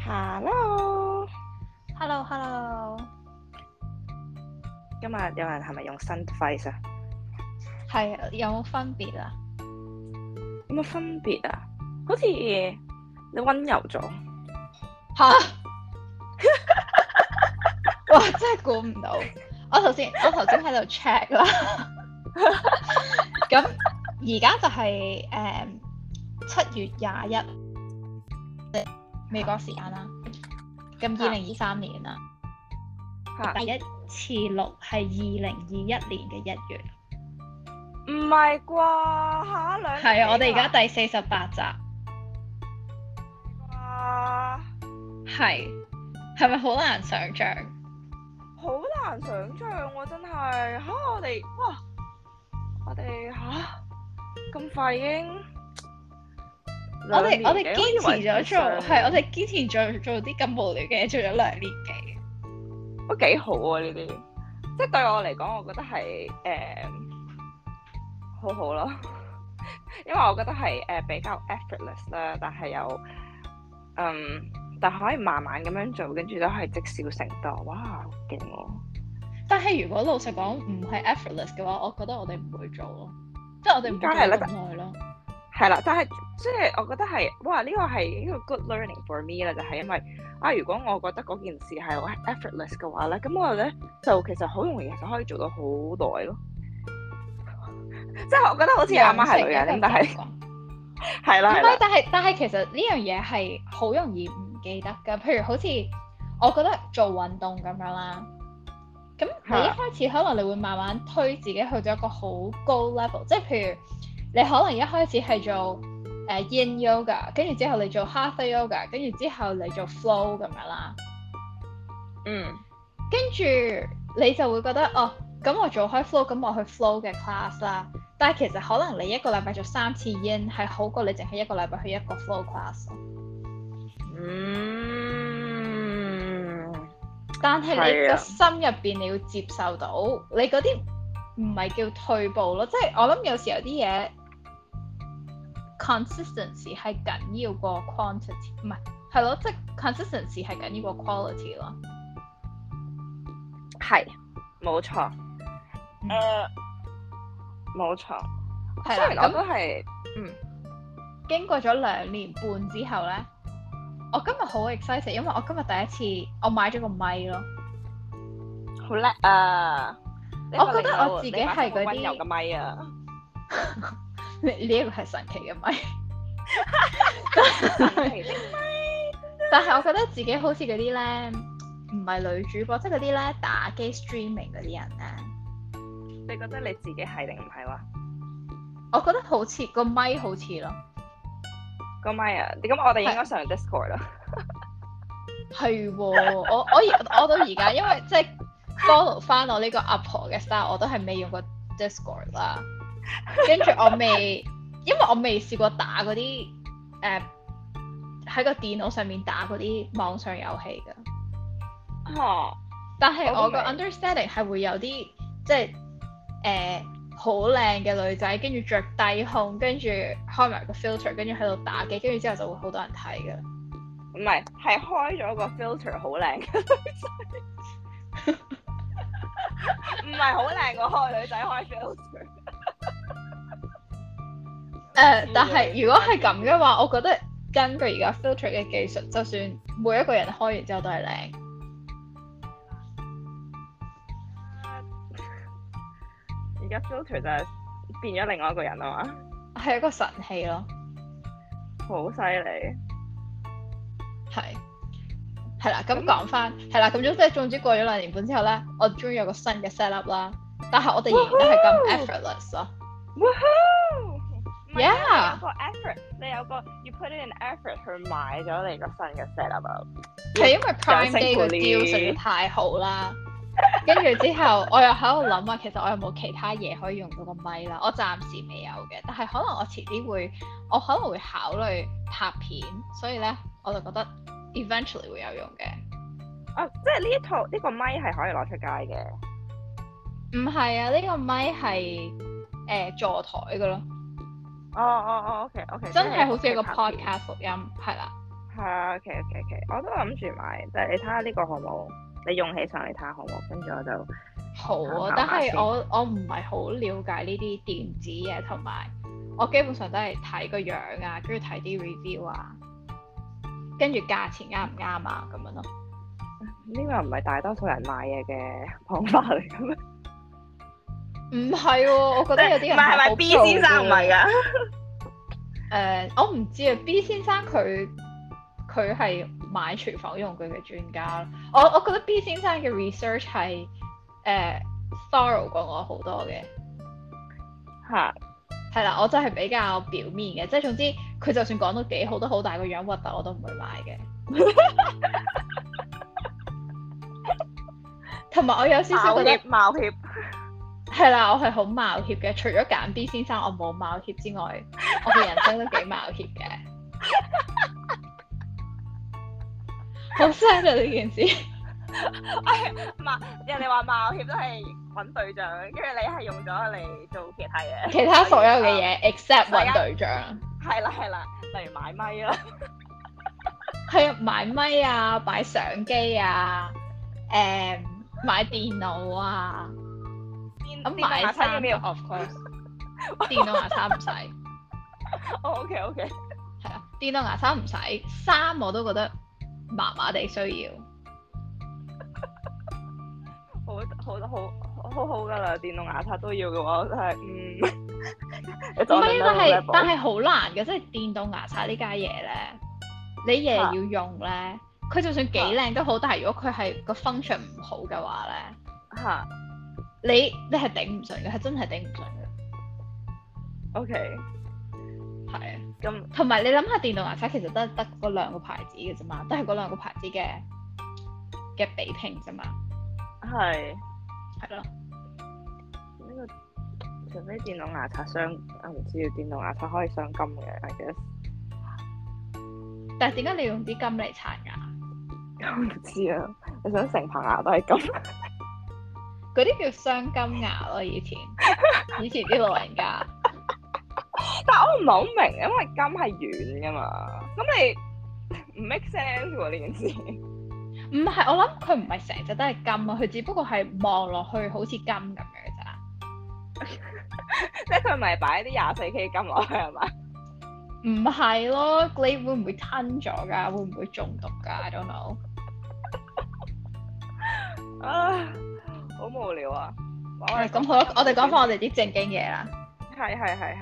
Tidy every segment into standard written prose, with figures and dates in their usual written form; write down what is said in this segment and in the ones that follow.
Hello， Hello， 今日有人係咪用新 device 啊？ 係啊，有冇分別啊？ 有冇分別啊？好似你温柔咗。 吓，哇！真係估唔到。我頭先喺度 check 啦。咁而家就係7月21美國時間啦。咁2023年啦，第一次錄係2021年嘅1月。 唔係啩？下兩係啊，我哋而家第48集。 哇！ 係咪好難想像？ 好難想像喎，真係嚇！我哋咁快已經我哋堅持咗做，我哋堅持做啲咁無聊嘅嘢，做咗2年幾， 都幾好啊！呢啲即係對我嚟講，我覺得係好好咯，因為我覺得係比較 effortless 啦，但係又但係可以慢慢咁樣做，跟住都係積少成多，哇！好勁喎！ 但係如果老實講唔係 effortless 嘅話，我覺得我哋唔會做咯，即係我哋唔會做咁耐咯。 係啦，但係即係我覺得係哇，呢個係一個 good learning for me 啦，就係因為如果我覺得嗰件事係好 effortless 嘅話咧，咁我咧就其實好容易就可以做到好耐咯。即係我覺得好似阿媽係女人咁，但係係啦， 唔係，但係其實呢樣嘢係好容易唔記得㗎。譬如好似我覺得做運動咁樣啦，咁你一開始可能你會慢慢推自己去到一個好高 level，即係譬如你可能一開始係做Yin Yoga， 跟住之後你做 Hatha Yoga， 跟住之後你做 Flow 咁樣啦。跟住你就會覺得咁我做開 Flow， 咁我去 Flow 嘅 class 啦。但係其實可能你一個禮拜做3次 Yin 係好過你淨係一個禮拜去一個 Flow class。但係你個心入邊你要接受到，你嗰啲唔係叫退步咯，即係我諗有時有啲嘢 consistency 係緊要過 quantity， 唔係咯，即係 consistency 係緊要過 quality 咯。 係，冇錯。冇錯。 係啦， 咁都係經過咗2年半之後咧，我今日好 excited，因為我今日第一次我買咗個咪咯。 好叻啊！ 我覺得我自己係嗰啲溫柔嘅咪啊！ 呢一個係神奇嘅咪。 神奇的咪。 但係我覺得自己好似嗰啲咧，唔係女主播，即係嗰啲咧打機 streaming 嗰啲人咧。 你覺得你自己係定唔係話？ 我覺得好似個咪好似咯。 個咪啊！咁我哋應該上 Discord 啦。 係喎，我到而家，因為即係 follow 翻我呢個阿婆嘅 style，我都係未用過 Discord 啦。跟住因為我未試過打嗰啲喺個電腦上面打嗰啲網上遊戲㗎。但係我個 understanding 係會有啲即係好靚嘅女仔，跟住着低胸，跟住開埋個 filter，跟住喺度打機，跟住之後就會好多人睇㗎。 唔係開咗個 filter 好靚嘅女仔，唔係好靚個開女仔開 filter。 但係如果係咁嘅話，我覺得根據而家 filter 嘅技術，就算每一個人開完之後都係靚。 而家 filter 就係變咗另外一個人啊嘛， 係一個神器咯， 好犀利。 係啦，咁講翻係啦，咁總之過咗2年半之後咧，我終於有個新嘅 set up 啦，但係我哋仍然都係咁 effortless 咯。 Yeah， 你有個 effort， 你有個 you put in effort 去買咗你個新嘅 set up 啊。 係因為 Prime Day 個 deal 實在太好啦，跟住之後我又喺度諗啊，其實我有冇其他嘢可以用到個咪啦？我暫時未有嘅，但係可能我遲啲我可能會考慮拍片，所以咧我就覺得 eventually 會有用嘅。 即係呢個咪係可以攞出街嘅？ 唔係啊，呢個咪係座台嘅咯。 OK， 真係好似一個 podcast 錄音，係啦。 係啊，OK，我都諗住買，但係你睇下呢個好冇，你用起上嚟睇下好冇，跟住我就好啊， 參考但係下先我唔係好了解呢啲電子嘢，同埋我基本上都係睇個樣啊，跟住睇啲 review 啊，跟住價錢啱唔啱啊咁樣咯。 呢個唔係大多數人買嘢嘅方法嚟嘅咩？ 唔係喎，我覺得有啲人係咪好 B pro 先生唔係㗎？ 我唔知啊，B 先生佢係買廚房用具嘅專家咯。我覺得 B 先生嘅 research 係thorough 過我好多嘅。 嚇， 係啦，我真係比較表面嘅，即係總之佢就算講到幾好都好，但係個樣核突我都唔會買嘅。同埋我有少少覺得冒險。 係啦，我係好冒險嘅。除咗揀 B 先生我冇冒險之外，我嘅人生都幾冒險嘅。好 sad 啊呢件事。 人哋話冒險都係揾對象，跟住你係用咗嚟做其他嘢。 其他所有嘅嘢 except 揾對象。 係啦，例如買咪啦。 係啊，買咪啊，買相機啊，買電腦啊。咁買牙刷要唔要 ？Of course， 電動牙刷唔使。 OK， 係啊，電動牙刷唔使，衫我都覺得麻麻地需要。 好㗎啦，電動牙刷都要嘅話，真係唔係，但係好難嘅，即係電動牙刷呢家嘢咧，你日日要用咧，佢就算幾靚都好，但係如果佢係個 function 唔好嘅話咧，你係頂唔順嘅，係真係頂唔順嘅。 OK， 係啊， 咁同埋你諗下電動牙刷其實得嗰兩個牌子嘅啫嘛，都係嗰兩個牌子嘅比拼啫嘛。係咯。 呢個除非電動牙刷傷，我唔知電動牙刷可以傷金嘅，I guess。 但係點解你用啲金嚟刷牙？ 我唔知啊，你想成棚牙都係金？ 嗰啲叫雙金牙咯，以前啲老人家。 但係我唔係好明，因為金係軟噶嘛，咁你唔 make sense 喎呢件事。 唔係，我諗佢唔係成隻都係金啊，佢只不過係望落去好似金咁樣咋。 即係佢唔係擺啲24K 金落去係嘛？ 唔係咯，你會唔會吞咗㗎？會唔會中毒㗎 ？I don't know。 啊，好無聊啊！ 咁好啦，我哋講翻我哋啲正經嘢啦。 係。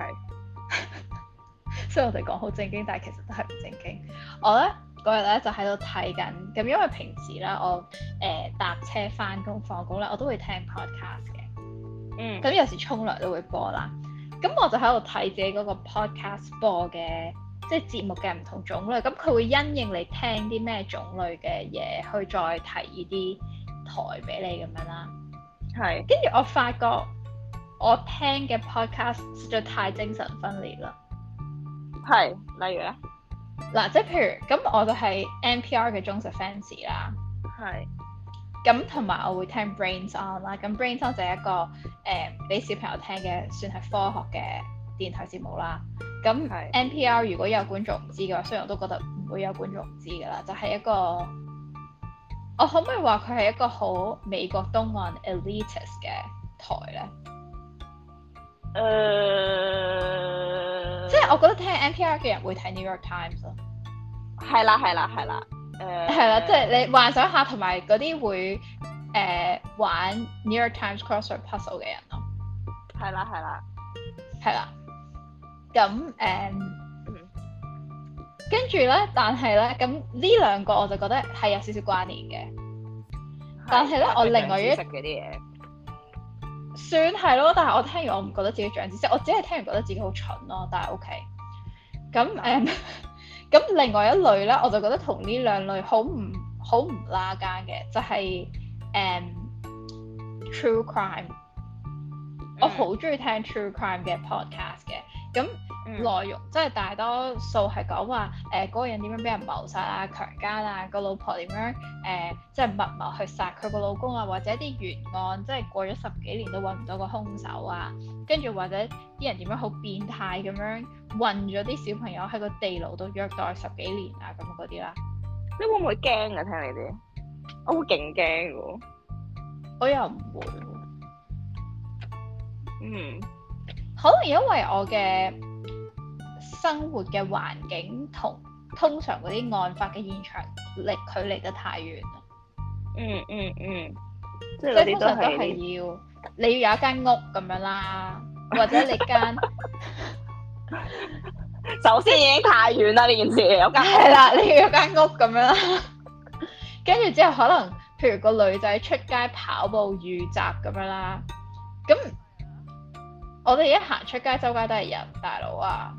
雖然我哋講好正經，但係其實都係唔正經。我咧嗰日咧就喺度睇緊，咁因為平時咧我搭車翻工放工咧，我都會聽 podcast 嘅。咁有時沖涼都會播啦。咁我就喺度睇自己嗰個 podcast 播嘅，即係節目嘅唔同種類。咁佢會因應你聽啲咩種類嘅嘢，去再提議啲台俾你咁樣啦。係。跟住我發覺我聽嘅 podcast 實在太精神分裂啦。 係，例如咧？ 嗱，即係譬如咁，我就係 NPR 嘅忠實 fans 啦。係。咁同埋我會聽 Brains On 啦。咁 Brains On 就係一個俾小朋友聽嘅，算係科學嘅電台節目啦。咁 NPR 如果有觀眾唔知嘅話，雖然我都覺得唔會有觀眾唔知㗎啦，就係一個，我可唔可以話佢係一個好美國東岸 elitist 嘅台咧？即係我覺得聽 NPR 嘅人會睇 New York Times 咯。係啦，即係你幻想下，同埋嗰啲會玩 New York Times crossword puzzle 嘅人咯。係啦。咁跟住咧，但係咧，咁呢兩個我就覺得係有少少關聯嘅。但係咧，我另外一食嗰啲嘢。 算係咯，但係我聽完我唔覺得自己長知識，我只係聽完覺得自己好蠢咯，但係 OK。咁咁另外一類咧，我就覺得同呢兩類好唔拉更嘅，就係True Crime。我好中意聽 True Crime 嘅 podcast 嘅， 咁內容即係大多數係講話嗰個人點樣俾人謀殺啊、強姦啊，個老婆點樣即係密謀去殺佢個老公啊，或者啲懸案即係過咗10幾年都揾唔到個兇手啊，跟住或者啲人點樣好變態咁樣韞咗啲小朋友喺個地牢度虐待10幾年啊咁嗰啲啦。 你會唔會驚啊？聽你啲，我會勁驚喎。 我又唔會。可能因為我嘅生活嘅環境同通常嗰啲案發嘅現場距離得太遠啦。即係通常都係你要有一間屋咁樣啦，或者你間首先已經太遠啦呢件事，有間係啦，你要有間屋咁樣啦，跟住之後可能譬如個女仔出街跑步遇襲咁樣啦，咁我哋一行出街周街都係人，大佬啊，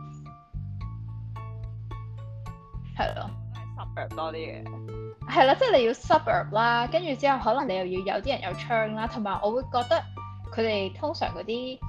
係咯， 都係 suburb 多啲嘅， 係啦，即係你要 suburb 啦，跟住之後可能你又要有啲人有槍啦，同埋我會覺得佢哋通常嗰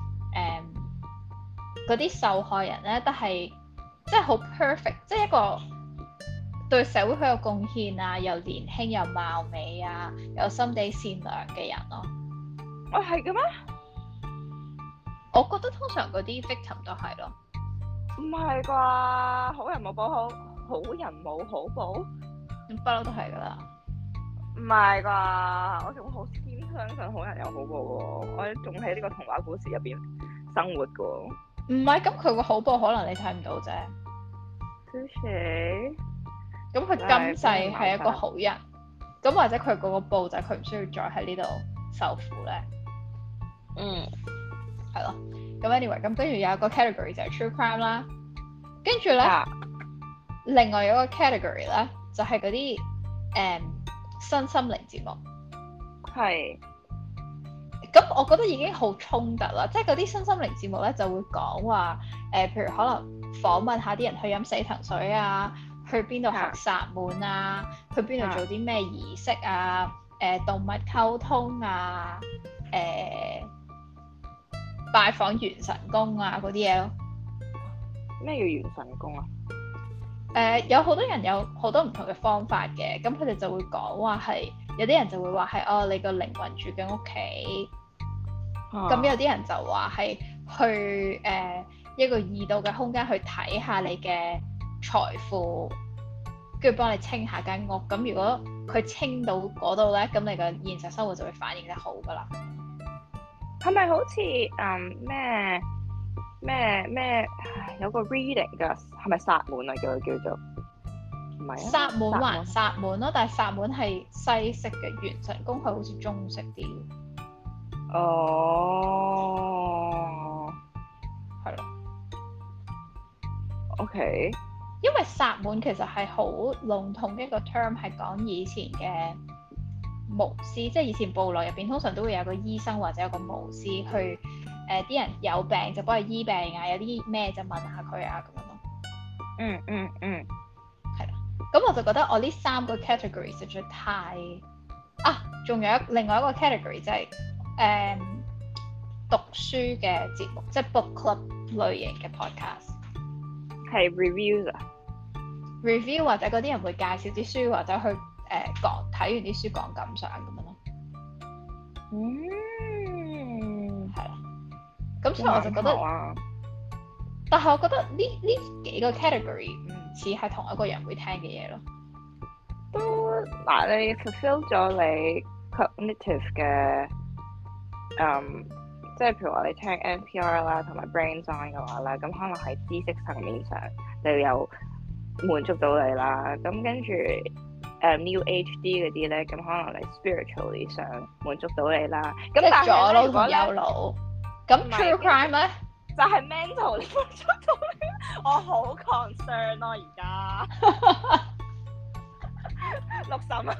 啲受害人咧都係即係好 perfect， 即係一個對社會好有貢獻啊，又年輕又貌美啊，有心地善良嘅人咯。 哦，係嘅咩？ 我覺得通常嗰啲 victim 都係咯。 唔係啩？好人冇報好，好人冇好報， 咁不嬲都係㗎啦。 唔係啩？我仲好堅相信好人有好報喎，我仲喺呢個童話故事入邊生活㗎喎。 唔係，咁佢個好報可能你睇唔到啫。咁佢今世係一個好人，咁或者佢嗰個報就係佢唔需要再喺呢度受苦咧。係咯。咁 anyway，咁跟住有一個 category 就係 true crime 啦，跟住咧另外有一個 category 咧就係嗰啲身心靈節目。 係。 咁我覺得已經好衝突啦，即係嗰啲身心靈節目咧就會講話譬如可能訪問下啲人去飲死藤水啊，去邊度學薩滿啊，去邊度做啲咩儀式啊，動物溝通啊，拜訪元神宮啊嗰啲嘢咯。 咩叫元神宮啊？ 有好多人有好多唔同嘅方法嘅，咁佢哋就會講話係有啲人就會話係你個靈魂住緊屋企，咁有啲人就話係去一個異度嘅空間去睇下你嘅財富，跟住幫你清下間屋。咁如果佢清到嗰度咧，咁你個現實生活就會反映得好噶啦。 係咪好似咩有個 reading 㗎？係咪薩滿啊？叫做唔係啊？ 薩滿還薩滿咯，但係薩滿係西式嘅，元神宮係好似中式啲。 哦， 係咯。 OK。 因為薩滿其實係好籠統嘅一個 term， 係講以前嘅巫師，即係以前部落入邊通常都會有個醫生或者有個巫師去啲人有病就幫佢醫病啊，有啲咩就問下佢啊咁樣咯。係啦。咁我就覺得我呢3個 category 實在太仲有另外一個 category 就係讀書嘅節目，即係 book club 類型嘅 podcast。 係 reviews 啊 ？review 或者嗰啲人會介紹啲書，或者去講睇完啲書講感想咁樣咯。係啦。咁所以我就覺得，但係我覺得呢幾個 category 唔似係同一個人會聽嘅嘢咯。 都嗱，你 fulfill 咗你 cognitive 嘅即係譬如話你聽 NPR 啦，同埋 Brain On 嘅話咧，咁可能喺知識層面上你有滿足到你啦。咁跟住New HD 嗰啲咧，咁可能你 spiritually 上滿足到你啦。咁但係左腦同右腦， 咁 true crime 咧就係 mental 滿足到你。我好 concern 咯，而家六嬸啊！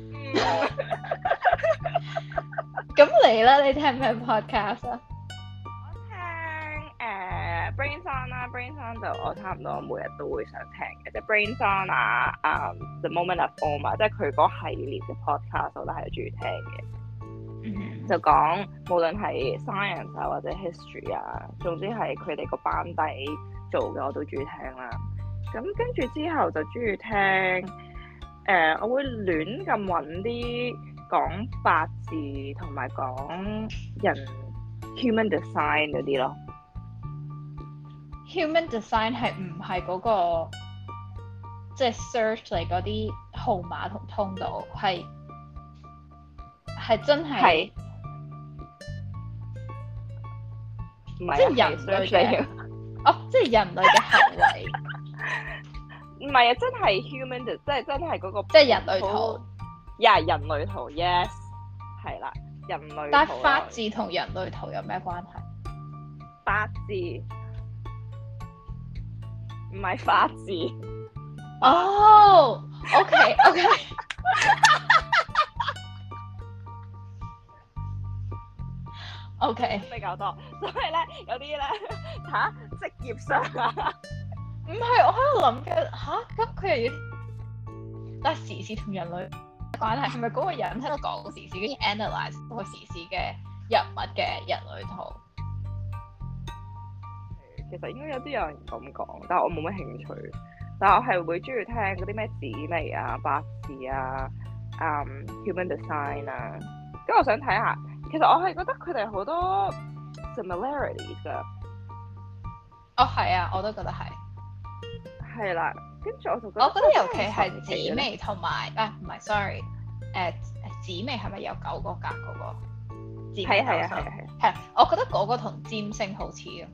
咁你咧？你聽咩 podcast 啊？ 我聽Brain On 啦，Brain On 就我差唔多每日都會想聽嘅，即係 Brain On 啊，The Moment of Om 啊，即係佢嗰系列嘅 podcast 我都係中意聽嘅。 就講無論係 science 啊或者 history 啊，總之係佢哋個班底做嘅我都中意聽啦。咁跟住之後就中意聽我會亂咁揾啲講八字同埋講人 human design 嗰啲咯。 Human design 係唔係嗰個即係 search 嚟嗰啲號碼同通道，係真係唔係即係人類嘅即係人類嘅行為， 唔係啊，真係 human 即係真係嗰個即係人類圖。 人類圖 yes 係啦，人類圖。 但係八字同人類圖有咩關係？ 八字唔係法字。 哦，OK。OK， 比較多，所以咧有啲咧職業上啊， 唔係我喺度諗緊咁佢又要，但係時事同人類關係係咪嗰個人喺度講時事，跟住 analyse 個時事嘅人物嘅人類圖？ 其實應該有啲有人咁講，但係我冇乜興趣。但係我係會中意聽嗰啲咩紫微啊、八字啊、human design 啊。跟住我想睇下。其實我係覺得佢哋好多 similarities 㗎。 哦，係啊，我都覺得係。 係啦，跟住我就覺得。 我覺得尤其係紫微同埋唔係 sorry，紫微係咪有9個格嗰個？係，我覺得嗰個同占星好似啊。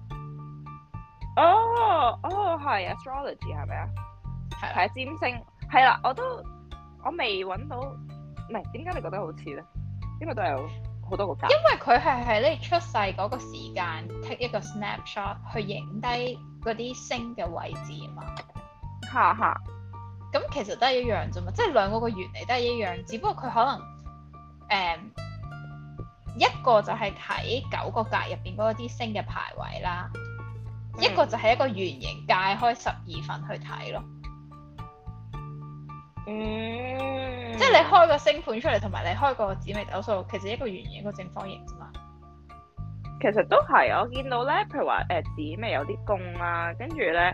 係 astrology 係咪啊？ 係占星係啦，我未揾到，唔係點解你覺得好似咧？因為都有好多個格。因為佢係喺你出世嗰個時間 take 一個 snapshot 去影低嗰啲星嘅位置啊嘛。 哈。 咁其實都係一樣啫嘛，即係兩個嘅原理都係一樣，只不過佢可能一個就係睇9個格入邊嗰啲星嘅排位啦，一個就係一個圓形界開12份去睇咯。即係你開個星盤出嚟，同埋你開個紫微斗數，其實一個圓形一個正方形啫嘛。 其實都係，我見到咧，譬如話紫微有啲宮啦，跟住咧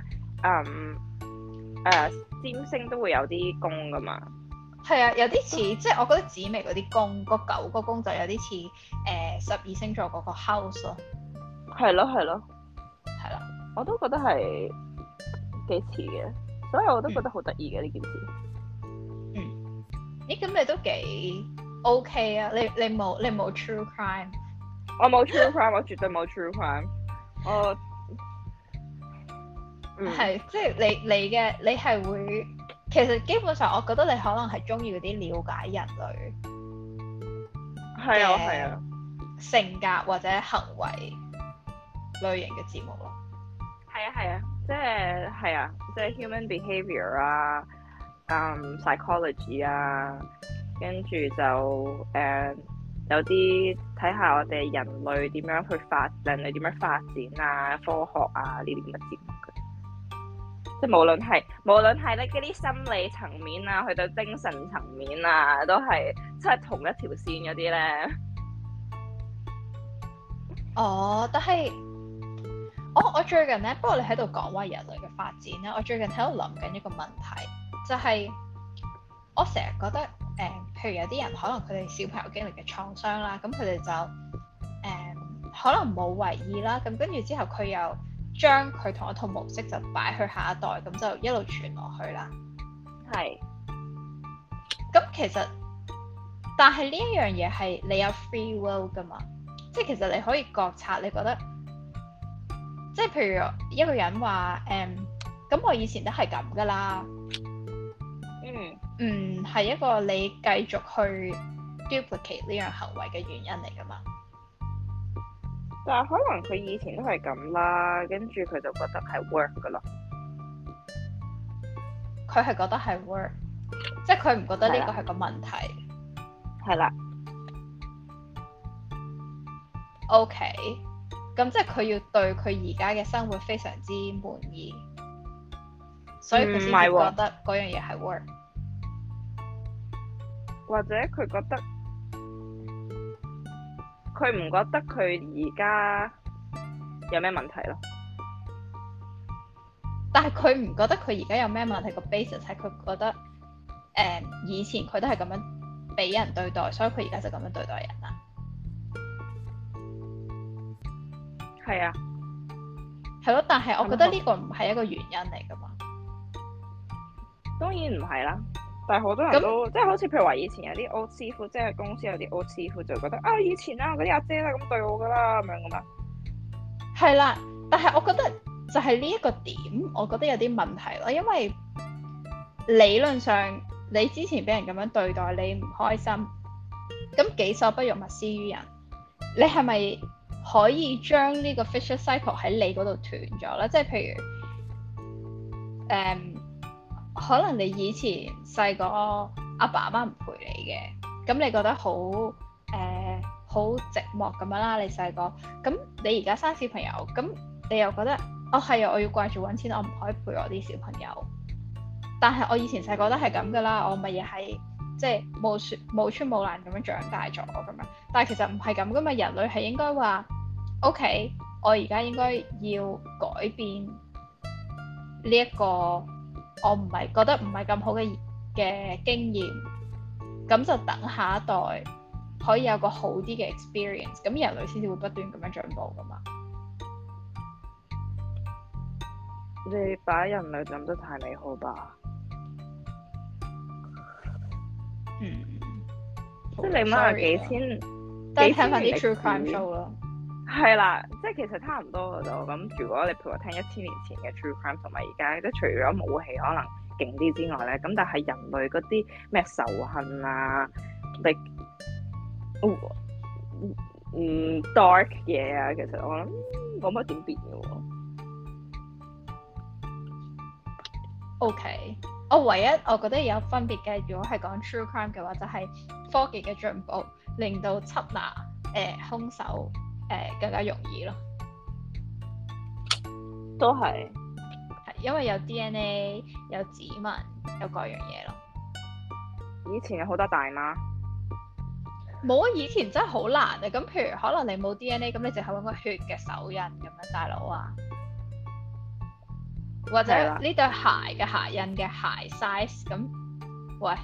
占星都會有啲宮噶嘛。 係啊，有啲似，即係我覺得紫微嗰啲宮，嗰9個宮就有啲似12星座嗰個 house 咯。 係咯。 係啦， 我都覺得係幾似嘅，所以我都覺得好得意嘅呢件事。 咦，咁你都幾 OK 啊？你冇 true crime？ 我冇 true crime， 我絕對冇 true crime。 係，即係你係會，其實基本上我覺得你可能係中意嗰啲了解人類係啊性格或者行為類型嘅節目咯。 係啊，即係 human behavior 啊。psychology 啊，跟住就有啲睇下我哋人類點樣去人類點樣發展啊，科學啊呢啲咁嘅節目嘅，即係無論係咧嗰啲心理層面啊，去到精神層面啊，都係即係同一條線嗰啲咧。 但係我最近咧，不過你喺度講話人類嘅發展咧，我最近喺度諗緊一個問題。就係我成日覺得譬如有啲人可能佢哋小朋友經歷嘅創傷啦，咁佢哋就可能冇為意啦，咁跟住之後佢又將佢同一套模式就擺去下一代，咁就一路傳落去啦。係。咁其實，但係呢一樣嘢係你有 free will 㗎嘛？即係其實你可以覺察，你覺得即係譬如一個人話咁我以前都係咁㗎啦。係一個你繼續去 duplicate 呢樣行為嘅原因嚟㗎嘛？ 但係可能佢以前都係咁啦，跟住佢就覺得係 work 㗎啦。 佢係覺得係 work，即係佢唔覺得呢個係個問題。 係啦。 OK，咁即係佢要對佢而家嘅生活非常之滿意，所以佢先會覺得嗰樣嘢係 work。 或者佢覺得佢唔覺得佢而家有咩問題咯。 但係佢唔覺得佢而家有咩問題，個 basis 係佢覺得以前佢都係咁樣俾人對待，所以佢而家就咁樣對待人啦。 係啊， 係咯，但係我覺得呢個唔係一個原因嚟㗎嘛。 當然唔係啦，但係好多人都即係好似譬如話以前有啲 old 師傅，即係公司有啲 old 師傅就覺得啊，以前啊嗰啲阿姐都係咁對我㗎啦咁樣㗎嘛。 係啦，但係我覺得就係呢一個點，我覺得有啲問題咯，因為理論上你之前俾人咁樣對待，你唔開心，咁己所不欲，勿施於人，你係咪可以將呢個 vicious cycle 喺你嗰度斷咗咧？即係譬如可能你以前細個阿爸阿媽唔陪你嘅，咁你覺得好好寂寞咁樣啦，你細個，咁你而家生小朋友，咁你又覺得哦係啊，我要掛住揾錢，我唔可以陪我啲小朋友。但係我以前細個都係咁噶啦，我咪又係即係冇穿冇爛咁樣長大咗咁樣。但係其實唔係咁噶嘛，人類係應該話 OK，我而家應該要改變呢一個我唔係覺得唔係咁好嘅經驗，咁就等下一代可以有個好啲嘅 experience，咁人類先至會不斷咁樣進步噶嘛。 你把人類諗得太美好吧？即係你諗下幾千， 但係睇翻啲 true crime show 咯。 係啦，即係其實差唔多嘅就咁。如果你譬如話聽1000年前嘅 true crime 同埋而家，即係除咗武器可能勁啲之外咧，咁但係人類嗰啲咩仇恨啊，dark 嘢啊，其實我諗冇乜點變嘅喎。 OK，我覺得有分別嘅，如果係講 true crime 嘅話，就係科技嘅進步令到緝拿兇手更加容易咯。 都係因為有 DNA、有指紋、有各樣嘢咯。 以前有好多大媽。 冇啊！以前真係好難啊。咁譬如可能你冇 DNA，咁你淨係揾個血嘅手印咁樣，大佬啊，或者呢對鞋嘅鞋印嘅鞋 size 咁，喂，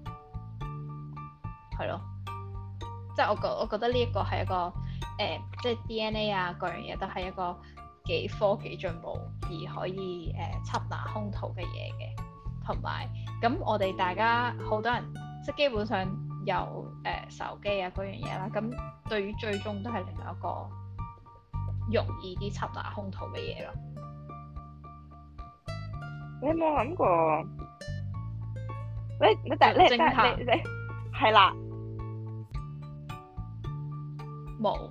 係咯，即係我覺得呢一個係一個即係 DNA 啊，各樣嘢都係一個幾科技進步而可以緝拿兇徒嘅嘢嘅，同埋咁我哋大家好多人即係基本上有手機啊嗰樣嘢啦，咁對於追蹤都係另外一個容易啲緝拿兇徒嘅嘢咯。 你有冇諗過？你係啦， 冇。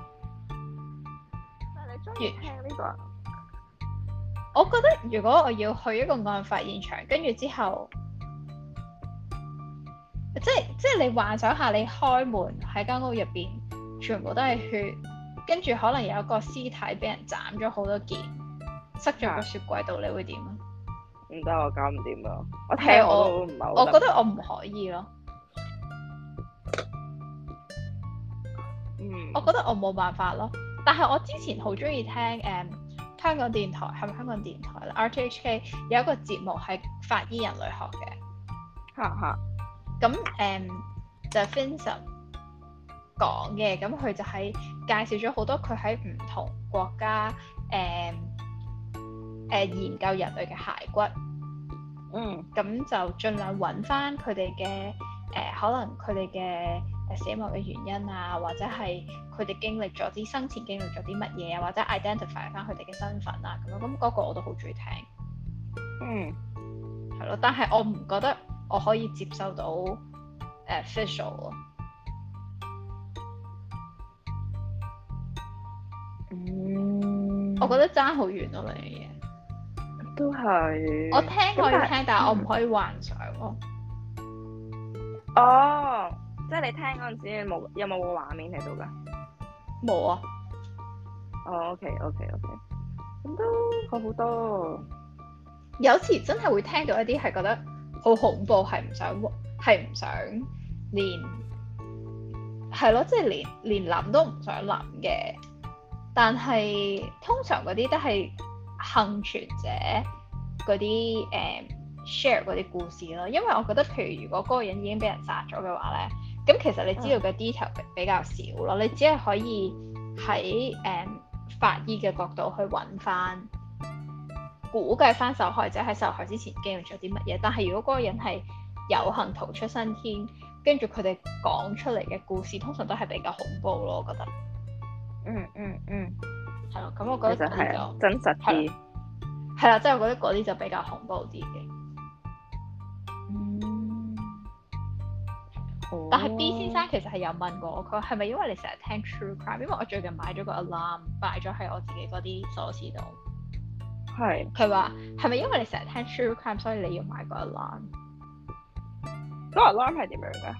但係你中意聽呢個？ 我覺得如果我要去一個案發現場，跟住之後，即係你幻想下，你開門喺間屋入邊，全部都係血，跟住可能有一個屍體俾人斬咗好多件，塞咗個雪櫃度，你會點啊？ 唔得，我搞唔掂啊！我聽我都唔係好。我覺得我唔可以咯。我覺得我冇辦法咯。但係我之前好中意聽香港電台，係咪香港電台咧？RTHK 有一個節目係法醫人類學嘅。 哈哈。 咁就 Vincent 講嘅，咁佢就係介紹咗好多佢喺唔同國家研究人類嘅骸骨。咁就盡量揾翻佢哋嘅可能佢哋嘅死亡嘅原因啊，或者係佢哋經歷咗啲生前經歷咗啲乜嘢啊，或者 identify 翻佢哋嘅身份啊咁樣，咁嗰個我都好中意聽。係咯，但係我唔覺得我可以接受到visual 咯。我覺得爭好遠咯，呢樣嘢。 都係。 我聽可以聽，但係我唔可以幻想咯。 哦，即係你聽嗰陣時，有冇個畫面喺度㗎？ 冇啊。 哦，OK，咁都好多。 有時真係會聽到一啲係覺得好恐怖，係唔想連係咯，即係連諗都唔想諗嘅。但係通常嗰啲都係幸存者嗰啲share 嗰啲故事咯，因為我覺得譬如如果嗰個人已經俾人殺咗嘅話咧，咁其實你知道嘅 detail 比較少咯，你只係可以喺法醫嘅角度去揾翻，估計翻受害者喺受害之前經歷咗啲乜嘢。但係如果嗰個人係有幸逃出生天，跟住佢哋講出嚟嘅故事，通常都係比較恐怖咯，我覺得。係咯，咁我覺得嗰啲就真實啲。 係啦，即係我覺得嗰啲就比較恐怖啲嘅。但係 B 先生其實係有問過我，佢話係咪因為你成日聽 true crime？因為我最近買咗個 alarm，擺咗喺我自己嗰啲鎖匙度。 係。佢話係咪因為你成日聽 true crime，所以你要買個 alarm？ 嗰個 alarm 係點樣㗎？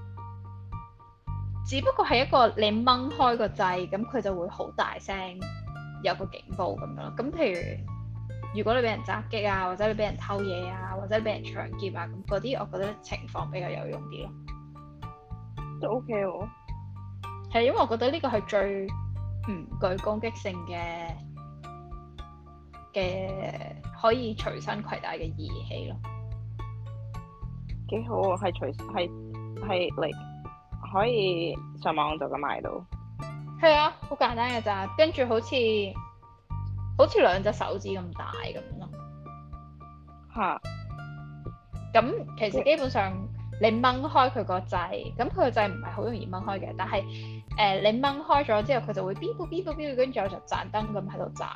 只不過係一個你掹開個掣，咁佢就會好大聲，有個警報咁樣咯。咁譬如你俾人襲擊啊，或者你俾人偷嘢啊，或者俾人搶劫啊，咁嗰啲我覺得情況比較有用啲咯。 都 OK 喎。 係因為我覺得呢個係最唔具攻擊性嘅可以隨身攜帶嘅儀器咯。 幾好喎，係嚟可以上網就咁買到。 係啊，好簡單嘅咋，跟住好似兩隻手指咁大咁咯。 嚇！ 咁其實基本上你掹開佢個掣，咁佢個掣唔係好容易掹開嘅，但係你掹開咗之後，佢就會嗶嗶嗶嗶嗶，跟住我就盞燈咁喺度斬。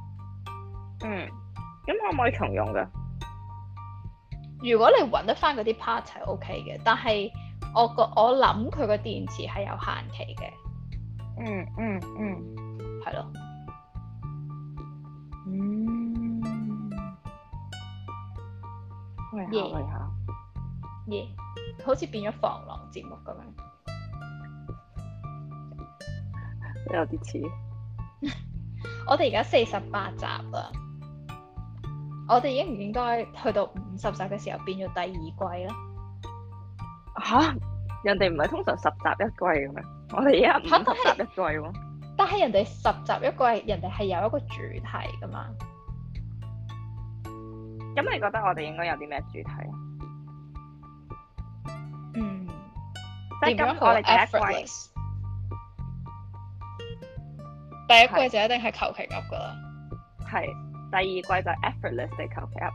咁可唔可以重用㗎？ 如果你揾得翻嗰啲 part 係 OK 嘅，但係我諗佢個電池係有限期嘅。係咯。去下。好似變咗防狼節目咁樣。 有啲似。 我哋而家48集啦，我哋應唔應該去到50集嘅時候變咗第二季咧？ 嚇！人哋唔係通常10集一季嘅咩？我哋而家50集一季喎。 但係人哋10集一季，人哋係有一個主題噶嘛。 咁你覺得我哋應該有啲咩主題啊？即係今我哋第一季， 第一季就一定係求其噏噶啦。 係，第二季就 effortless 地求其噏。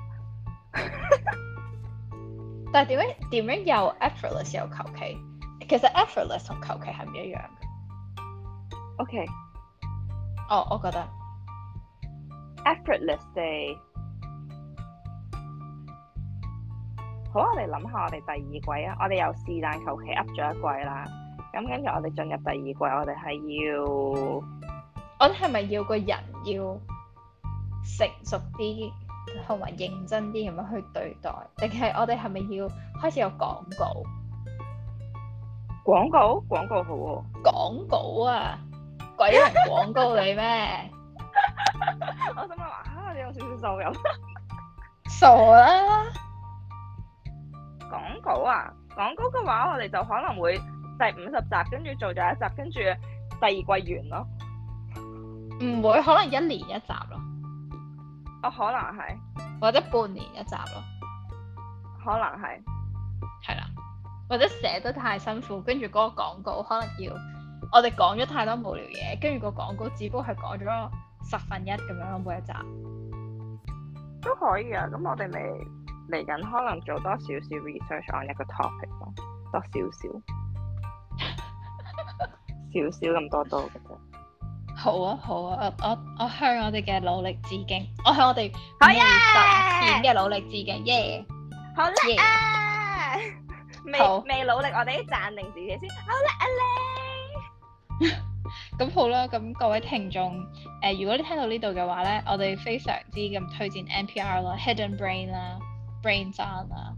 但係點樣又 effortless 又求其？其實 effortless 同求其係唔一樣嘅。 OK。 我覺得 effortless 地。好，我哋諗下我哋第二季啊！我哋由是但求其噏咗一季啦，咁跟住我哋進入第二季，我哋係要， 我哋係咪要個人要成熟啲，同埋認真啲咁樣去對待，定係我哋係咪要開始有廣告？ 廣告好喎。 廣告啊！鬼人廣告你咩？ 我心諗話你有少少收入。 傻啦！ 廣告啊！廣告嘅話，我哋就可能會第50集，跟住做咗一集，跟住第二季完咯。唔會，可能1年1集咯。 可能係。 或者半年1集咯。 可能係。 係啦。或者寫得太辛苦，跟住嗰個廣告可能要我哋講咗太多無聊嘢，跟住個廣告只不過係講咗1/10咁樣咯，每一集。 都可以啊！咁我哋咪嚟緊可能做多少少 research on 一個 topic 咯，多少咁多嘅啫。 好啊，我向我哋嘅努力致敬，我向我哋未實現嘅努力致敬，耶！ 好叻啊！未努力，我哋暫定自己先。好叻啊你！ 咁好啦，咁各位聽眾，如果你聽到呢度嘅話咧，我哋非常之咁推薦 NPR 啦、Hidden Brain 啦、Brain On 啦，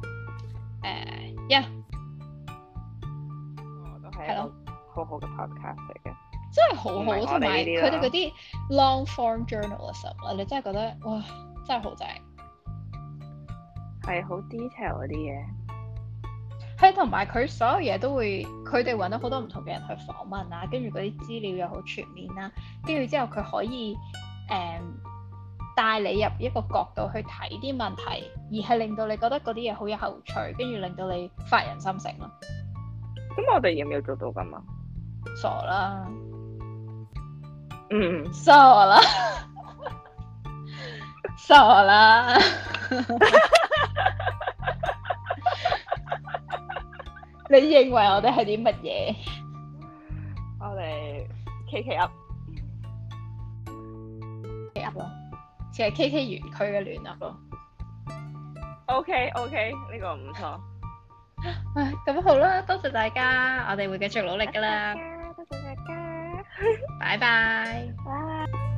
都係一個好好嘅 podcast 嚟嘅， 真係好好，同埋佢哋嗰啲 long form journalism 啦，你真係覺得哇，真係好正， 係好 detail 嗰啲嘢。 係係同埋佢所有嘢都會，佢哋揾到好多唔同嘅人去訪問啊，跟住嗰啲資料又好全面啦，跟住之後佢可以帶你入一個角度去睇啲問題，而係令到你覺得嗰啲嘢好有趣，跟住令到你發人深省咯。 咁我哋要唔要做到咁啊？ 傻啦， 傻啦，傻啦。你認為我哋係啲乜嘢？ 我哋 KK up 咯，似係 KK 園區嘅聯合咯。 OK，呢個唔錯。 唉，咁好啦，多謝大家，我哋會繼續努力㗎啦。 多謝大家， 拜拜。 拜。